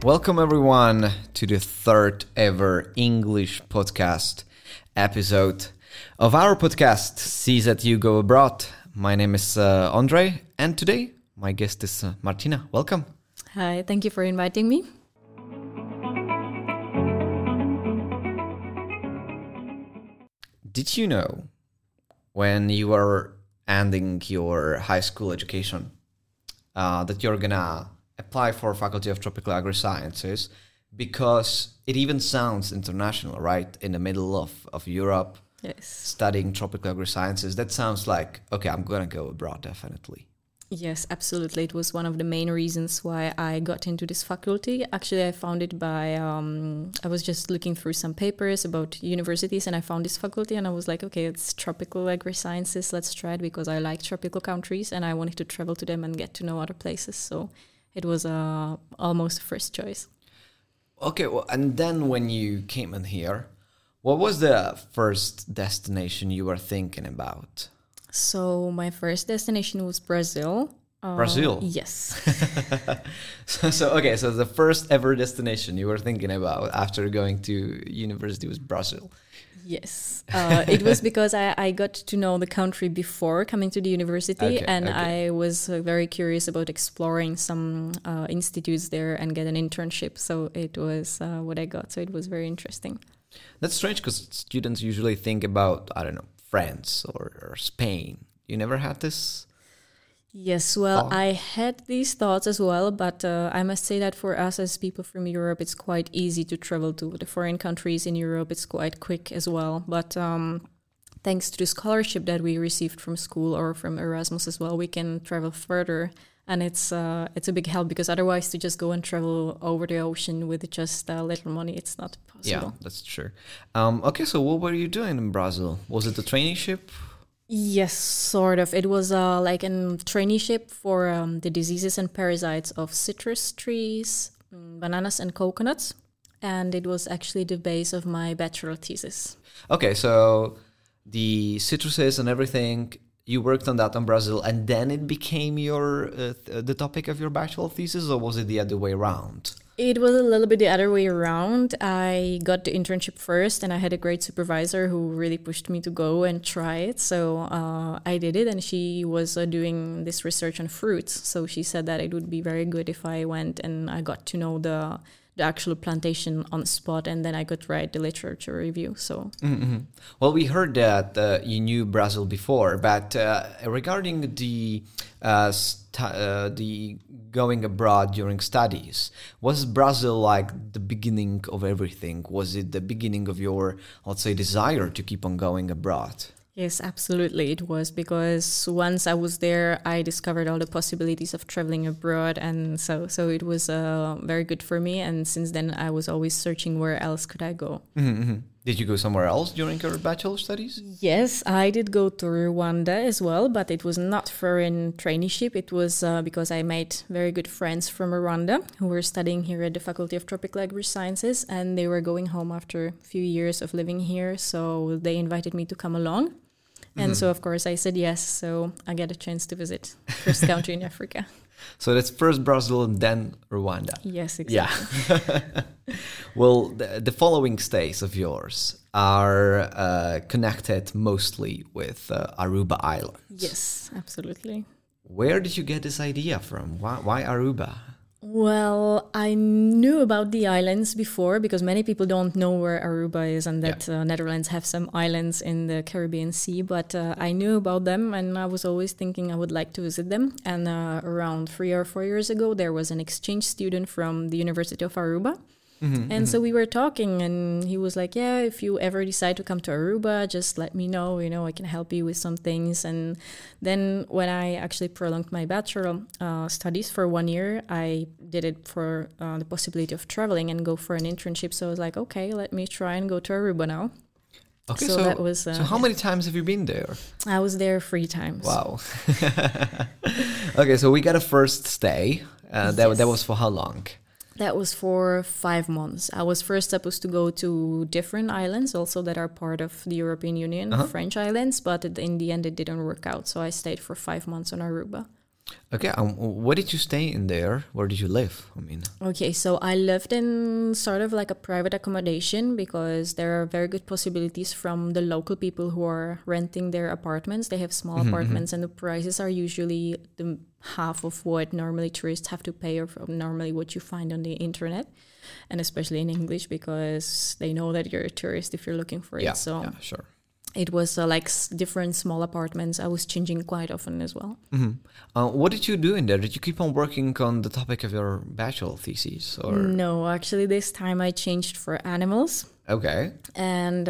Welcome everyone to the third ever English podcast episode of our podcast, See That You Go Abroad. My name is Andre, and today my guest is Martina. Welcome. Hi, thank you for inviting me. Did you know when you were ending your high school education that you're gonna apply for Faculty of Tropical Agri-Sciences, because it even sounds international, right? In the middle of Europe, Yes. studying tropical agri-sciences, that sounds like, okay, I'm gonna go abroad, definitely. Yes, absolutely. It was one of the main reasons why I got into this faculty. Actually, I found it by, I was just looking through some papers about universities and I found this faculty and I was like, okay, it's tropical agri-sciences. Let's try it because I like tropical countries and I wanted to travel to them and get to know other places. So it was almost a first choice. Okay, well, and then when you came in here, what was the first destination you were thinking about? So my first destination was Brazil. Brazil? Yes. So the first ever destination you were thinking about after going to university was Brazil. Yes. It was because I got to know the country before coming to the university, I was very curious about exploring some institutes there and get an internship. So it was what I got. So it was very interesting. That's strange because students usually think about, I don't know, France or Spain. You never had this? Yes, well, I had these thoughts as well, but I must say that for us as people from Europe, it's quite easy to travel to the foreign countries in Europe. It's quite quick as well. But thanks to the scholarship that we received from school or from Erasmus as well, we can travel further. And it's a big help because otherwise to just go and travel over the ocean with just little money, it's not possible. Yeah, that's true. Okay, so what were you doing in Brazil? Was it a traineeship? Yes, sort of. It was like a traineeship for the diseases and parasites of citrus trees, bananas and coconuts. And it was actually the base of my bachelor thesis. Okay, so the citruses and everything, you worked on that in Brazil, and then it became your the topic of your bachelor thesis, or was it the other way around? It was a little bit the other way around. I got the internship first, and I had a great supervisor who really pushed me to go and try it. So I did it, and she was doing this research on fruits. So she said that it would be very good if I went and I got to know the actual plantation on the spot, and then I could write the literature review. So, Well, we heard that you knew Brazil before, but regarding the going abroad during studies, was Brazil like the beginning of everything? Was it the beginning of your, let's say, desire to keep on going abroad? Yes, absolutely. It was because once I was there, I discovered all the possibilities of traveling abroad. And so it was very good for me. And since then, I was always searching where else could I go. Did you go somewhere else during your bachelor studies? Yes, I did go to Rwanda as well, but it was not for a traineeship. It was because I made very good friends from Rwanda who were studying here at the Faculty of Tropical Agri-Sciences, and they were going home after a few years of living here. So they invited me to come along. And so, of course, I said yes. So I get a chance to visit first country in Africa. So that's first Brazil and then Rwanda. Yes, exactly. Yeah. Well, the following stays of yours are connected mostly with Aruba Island. Yes, absolutely. Where did you get this idea from? Why Aruba? Well, I knew about the islands before because many people don't know where Aruba is and that Netherlands have some islands in the Caribbean Sea, but I knew about them and I was always thinking I would like to visit them. And around 3 or 4 years ago, there was an exchange student from the University of Aruba. So we were talking and he was like, yeah, if you ever decide to come to Aruba, just let me know, I can help you with some things. And then when I actually prolonged my bachelor studies for 1 year, I did it for the possibility of traveling and go for an internship. So I was like, okay, let me try and go to Aruba now. Okay, so that was. So how many times have you been there? I was there 3 times. Wow. Okay, so we got a first stay. That was for how long? That was for 5 months. I was first supposed to go to different islands also that are part of the European Union, French islands, but in the end it didn't work out. So I stayed for 5 months on Aruba. Okay, where did you stay in there? Where did you live? I mean, Okay, so I lived in sort of like a private accommodation because there are very good possibilities from the local people who are renting their apartments. They have small apartments, and the prices are usually the half of what normally tourists have to pay, or from normally what you find on the internet, and especially in English because they know that you're a tourist if you're looking for it. So yeah, sure. it was like different small apartments. I was changing quite often as well. What did you do in there? Did you keep on working on the topic of your bachelor thesis, or No, actually, this time I changed for animals. okay? And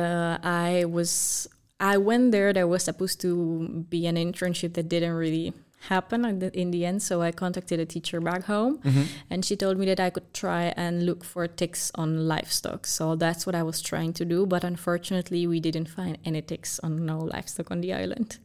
I went there. There was supposed to be an internship that didn't really happen in the end. So I contacted a teacher back home, and she told me that I could try and look for ticks on livestock. So that's what I was trying to do. But unfortunately, we didn't find any ticks on no livestock on the island.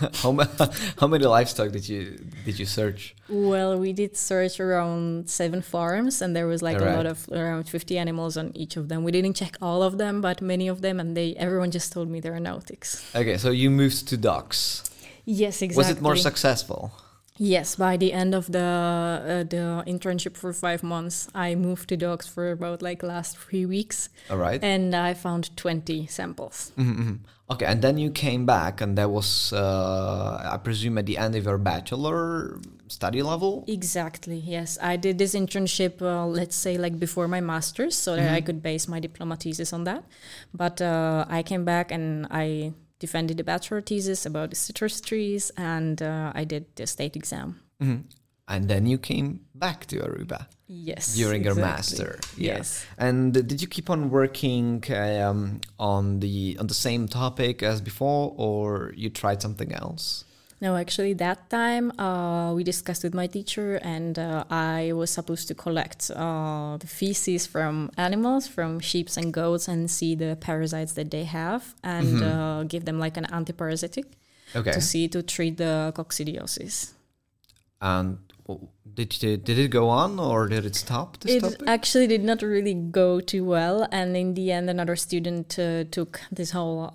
How many livestock did you search? Well, we did search around 7 farms, and there was like Alright. a lot of around 50 animals on each of them. We didn't check all of them, but many of them, and everyone just told me there are no ticks. Okay, so you moved to ducks. Yes, exactly. Was it more successful? Yes, by the end of the internship for 5 months, I moved to dogs for about like last 3 weeks, All right. and I found 20 samples. Okay, and then you came back, and that was, I presume, at the end of your bachelor study level? Exactly, yes. I did this internship, let's say, like before my master's, so that I could base my diploma thesis on that. But I came back and I defended the bachelor thesis about the citrus trees, and I did the state exam. And then you came back to Aruba Yes. during your exactly. master. Yeah. Yes. And did you keep on working on the same topic as before, or you tried something else? No, actually, that time we discussed with my teacher, and I was supposed to collect the feces from animals, from sheep and goats, and see the parasites that they have, and give them like an antiparasitic Okay. to treat the coccidiosis. And did it go on, or did it stop? This It topic? actually did not really go too well, and in the end, another student took this whole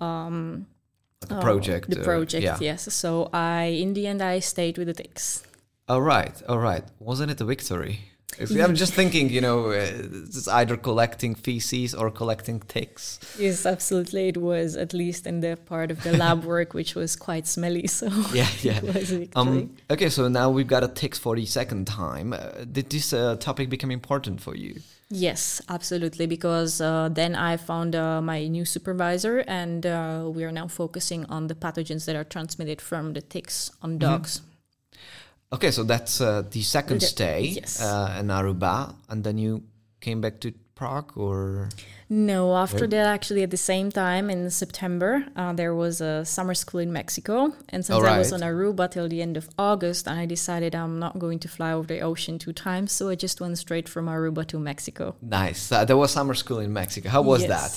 The project. the project. Yeah. Yes, so in the end, I stayed with the ticks. All right. Wasn't it a victory? I'm just thinking, it's either collecting feces or collecting ticks. Yes, absolutely. It was, at least in the part of the lab work, which was quite smelly. So Yeah. it was a victory. Okay, so now we've got a ticks for the second time. Did this topic become important for you? Yes, absolutely. Because then I found my new supervisor, and we are now focusing on the pathogens that are transmitted from the ticks on dogs. Okay, so that's the second stay yes. in Aruba, and then you came back to Prague, or? No, after that, actually, at the same time in September, there was a summer school in Mexico. And since I was on Aruba till the end of August, I decided I'm not going to fly over the ocean 2 times. So I just went straight from Aruba to Mexico. Nice. There was summer school in Mexico. How was that?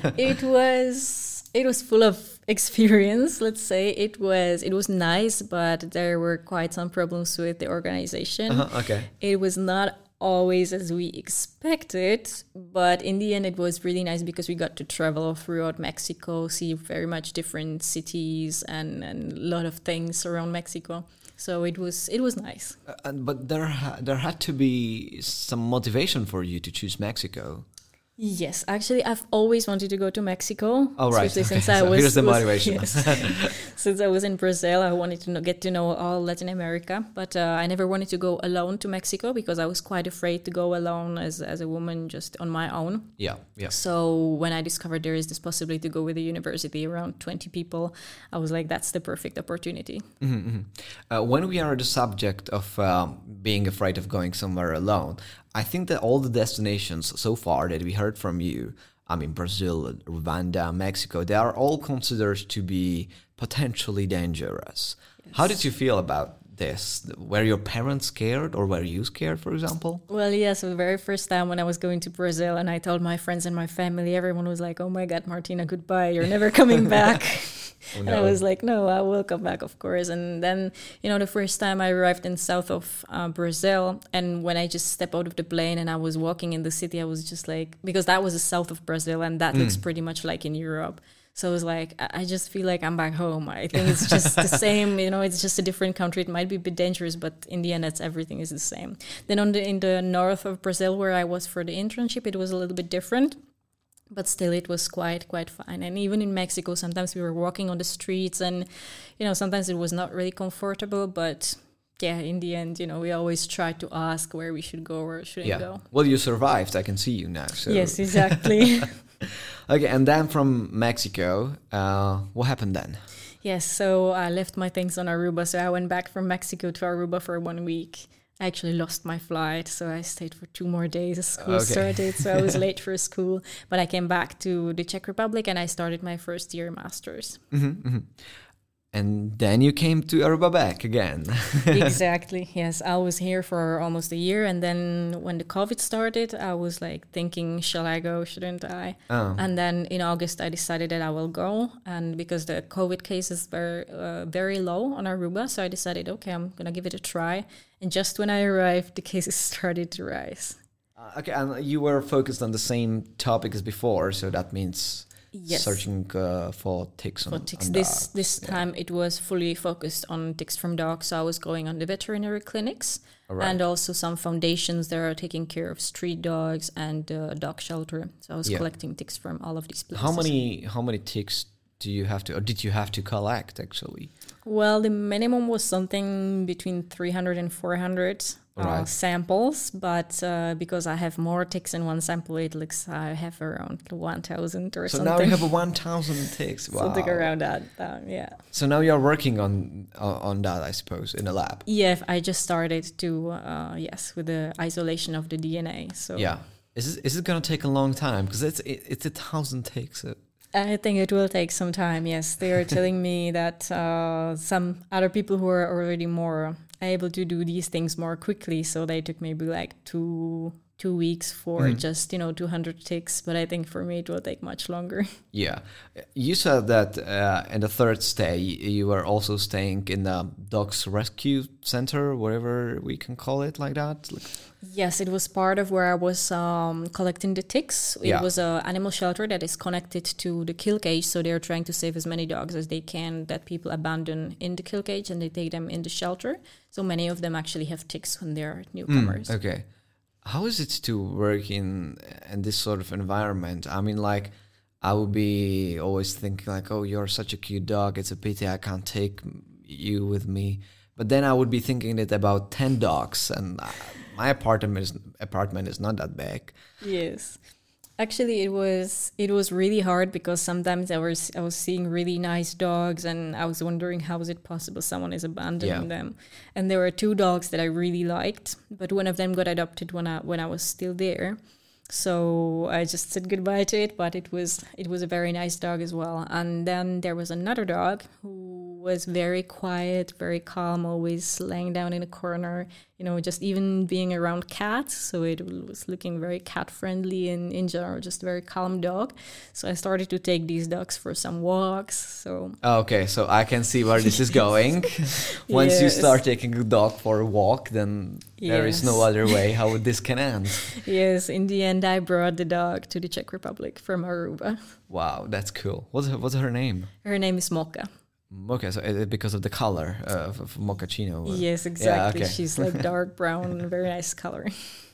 It was full of experience, let's say. It was nice, but there were quite some problems with the organization. Okay. It was not always as we expected, but in the end it was really nice because we got to travel throughout Mexico, see very much different cities and a lot of things around Mexico. So it was nice. But there had to be some motivation for you to choose Mexico. Yes, actually, I've always wanted to go to Mexico. Oh, right. Especially Okay. since I So was... here's the motivation. Yes. Since I was in Brazil, I wanted to get to know all Latin America. But I never wanted to go alone to Mexico because I was quite afraid to go alone as a woman just on my own. Yeah. So when I discovered there is this possibility to go with a university around 20 people, I was like, that's the perfect opportunity. When we are at the subject of being afraid of going somewhere alone, I think that all the destinations so far that we heard from you, I mean, Brazil, Rwanda, Mexico, they are all considered to be potentially dangerous. Yes. How did you feel about this? Were your parents scared, or were you scared, for example? Well, yes, the very first time when I was going to Brazil and I told my friends and my family, everyone was like, oh my God, Martina, goodbye, you're never coming back. Oh, no. And I was like, no, I will come back, of course. And then, the first time I arrived in south of Brazil, and when I just stepped out of the plane and I was walking in the city, I was just like, because that was the south of Brazil and that looks pretty much like in Europe. So it's like, I just feel like I'm back home. I think it's just the same, it's just a different country. It might be a bit dangerous, but in the end, everything is the same. Then in the north of Brazil, where I was for the internship, it was a little bit different. But still, it was quite fine. And even in Mexico, sometimes we were walking on the streets and, sometimes it was not really comfortable. But yeah, in the end, we always try to ask where we should go or shouldn't go. Well, you survived. I can see you now. So. Yes, exactly. Okay, and then from Mexico, what happened then? Yes, so I left my things on Aruba. So I went back from Mexico to Aruba for 1 week. I actually lost my flight, so I stayed for 2 more days. School started, so I was late for school. But I came back to the Czech Republic and I started my first year master's. And then you came to Aruba back again. Exactly, yes. I was here for almost a year. And then when the COVID started, I was like thinking, shall I go, shouldn't I? Oh. And then in August, I decided that I will go. And because the COVID cases were very low on Aruba, so I decided, okay, I'm going to give it a try. And just when I arrived, the cases started to rise. Okay, and you were focused on the same topic as before, so that means... Yes. Searching for ticks. On dogs. This time it was fully focused on ticks from dogs. So I was going on the veterinary clinics and also some foundations that are taking care of street dogs and dog shelter. So I was collecting ticks from all of these places. How many ticks do you have to, or did you have to collect actually? Well, the minimum was something between 300 and 400 samples, but because I have more ticks in one sample, it looks I have around 1,000 or something. So now you have 1,000 ticks. Wow. Something around that, yeah. So now you're working on that, I suppose, in a lab. Yeah, I just started to with the isolation of the DNA. So yeah, is it gonna take a long time? Because it's 1,000 ticks. I think it will take some time, yes. They are telling me that some other people who are already more able to do these things more quickly, so they took maybe like two weeks for just 200 ticks, but I think for me it will take much longer. Yeah, you said that in the third stay you were also staying in the dogs rescue center, whatever we can call it, like that. Yes, it was part of where I was collecting the ticks. It was an animal shelter that is connected to the kill cage, so they're trying to save as many dogs as they can that people abandon in the kill cage, and they take them in the shelter. So many of them actually have ticks when they're newcomers. Okay. How is it to work in this sort of environment? I mean, like, I would be always thinking like, oh, you're such a cute dog. It's a pity I can't take you with me. But then I would be thinking that about 10 dogs, and my apartment is not that big. Yes. Actually, it was really hard because sometimes I was seeing really nice dogs and I was wondering how is it possible someone is abandoning them. And there were 2 dogs that I really liked, but one of them got adopted when I was still there. So I just said goodbye to it, but it was a very nice dog as well. And then there was another dog who was very quiet, very calm, always laying down in a corner, just even being around cats. So it was looking very cat friendly and in general, just a very calm dog. So I started to take these dogs for some walks. So okay, so I can see where this is going. Once you start taking a dog for a walk, then there is no other way how this can end. Yes, in the end, I brought the dog to the Czech Republic from Aruba. Wow, that's cool. What's her name? Her name is Mocha. Okay, so because of the color of mochaccino. Yes, exactly. Yeah, okay. She's like dark brown, very nice color.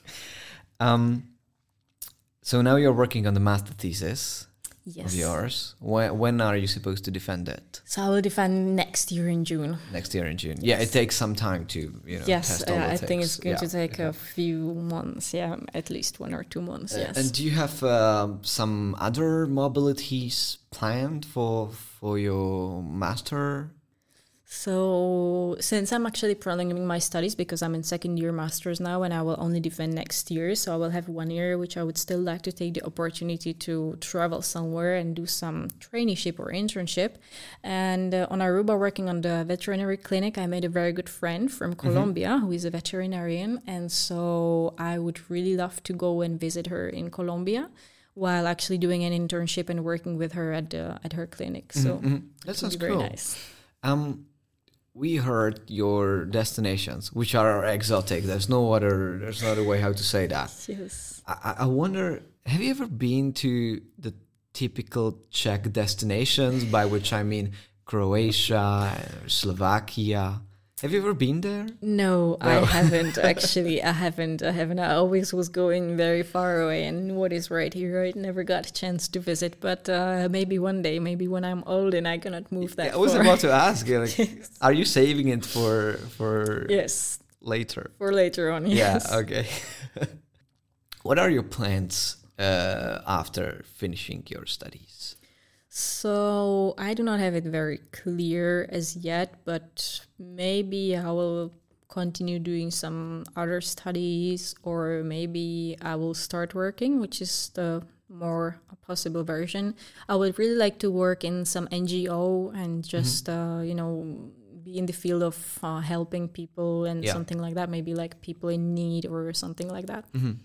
So now you're working on the master thesis. Yes. Of yours. When are you supposed to defend it? So I will defend next year in June. Next year in June. Yeah, it takes some time to test all the I think it's going to take a few months. Yeah, at least 1 or 2 months. Yes. And do you have some other mobilities planned for your master? So since I'm actually prolonging my studies because I'm in second year master's now and I will only defend next year, so I will have 1 year which I would still like to take the opportunity to travel somewhere and do some traineeship or internship. And on Aruba, working on the veterinary clinic, I made a very good friend from Colombia who is a veterinarian, and so I would really love to go and visit her in Colombia while actually doing an internship and working with her at her clinic. So that sounds very cool. Nice. We heard your destinations, which are exotic. There's no other way how to say that. Yes. I wonder, have you ever been to the typical Czech destinations, by which I mean Croatia, Slovakia. Have you ever been there? No, I haven't actually. I haven't. I always was going very far away, and what is right here, I never got a chance to visit. But maybe one day, maybe when I'm old and I cannot move that. I was far. about to ask you, like, Yes. are you saving it for Yes, later? for later on. Yes. Yeah. Okay. What are your plans after finishing your studies? So I do not have it very clear as yet, but maybe I will continue doing some other studies, or maybe I will start working, which is the more possible version. I would really like to work in some NGO and just, be in the field of helping people and something like that, maybe like people in need or something like that.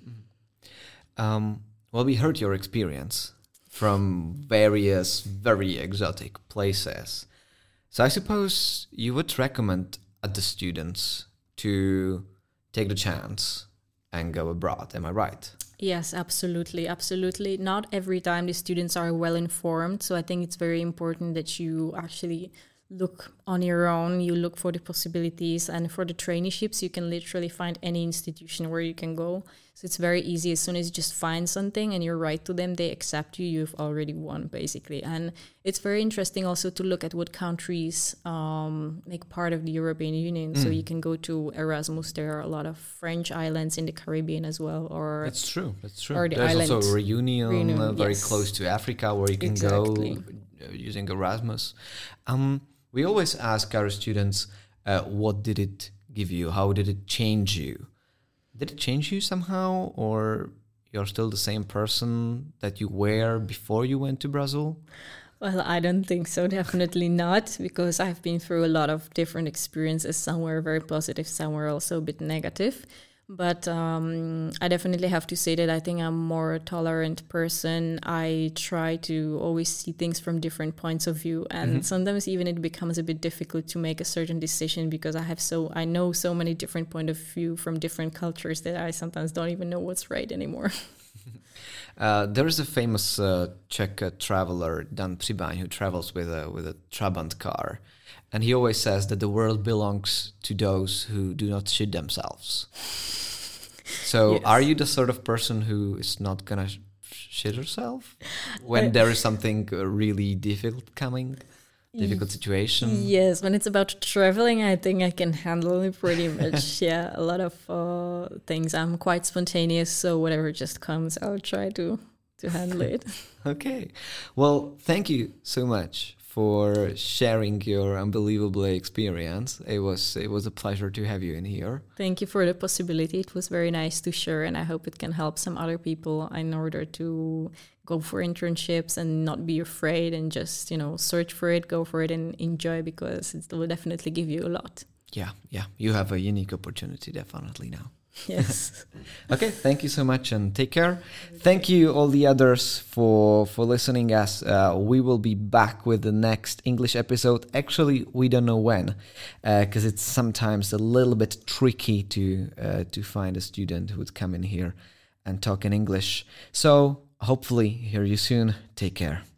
Well, we heard your experience from various very exotic places. So I suppose you would recommend the students to take the chance and go abroad. Am I right? Yes, absolutely. Absolutely. Not every time the students are well informed. So I think it's very important that you actually look on your own. You look for the possibilities, and for the traineeships, you can literally find any institution where you can go. So it's very easy. As soon as you just find something and you write to them, they accept you. You've already won, basically. And it's very interesting also to look at what countries make part of the European Union. So you can go to Erasmus. There are a lot of French islands in the Caribbean as well. Or That's true. Or the There's island also Reunion, very yes. close to Africa, where you can Exactly. go using Erasmus. We always ask our students, what did it give you? How did it change you? Did it change you somehow, or you're still the same person that you were before you went to Brazil? Well, I don't think so. Definitely not, because I've been through a lot of different experiences. Some were very positive, some were also a bit negative. But I definitely have to say that I think I'm a more tolerant person. I try to always see things from different points of view. And sometimes even it becomes a bit difficult to make a certain decision, because I know so many different point of view from different cultures that I sometimes don't even know what's right anymore. There is a famous Czech traveler, Dan Přibaň, who travels with a Trabant car. And he always says that the world belongs to those who do not shit themselves. So Yes. are you the sort of person who is not going to shit herself when there is something really difficult coming? Difficult situation? Yes, when it's about traveling, I think I can handle it pretty much. Yeah, a lot of things. I'm quite spontaneous, so whatever just comes, I'll try to handle it. Okay. Well, thank you so much for sharing your unbelievable experience. It was a pleasure to have you in here. Thank you for the possibility. It was very nice to share, and I hope it can help some other people in order to go for internships and not be afraid, and just, search for it, go for it, and enjoy, because it will definitely give you a lot. Yeah. You have a unique opportunity definitely now. Yes. Okay, thank you so much and take care. Thank you all the others for listening, as we will be back with the next English episode. Actually, we don't know when, because it's sometimes a little bit tricky to find a student who would come in here and talk in English. So hopefully hear you soon. Take care.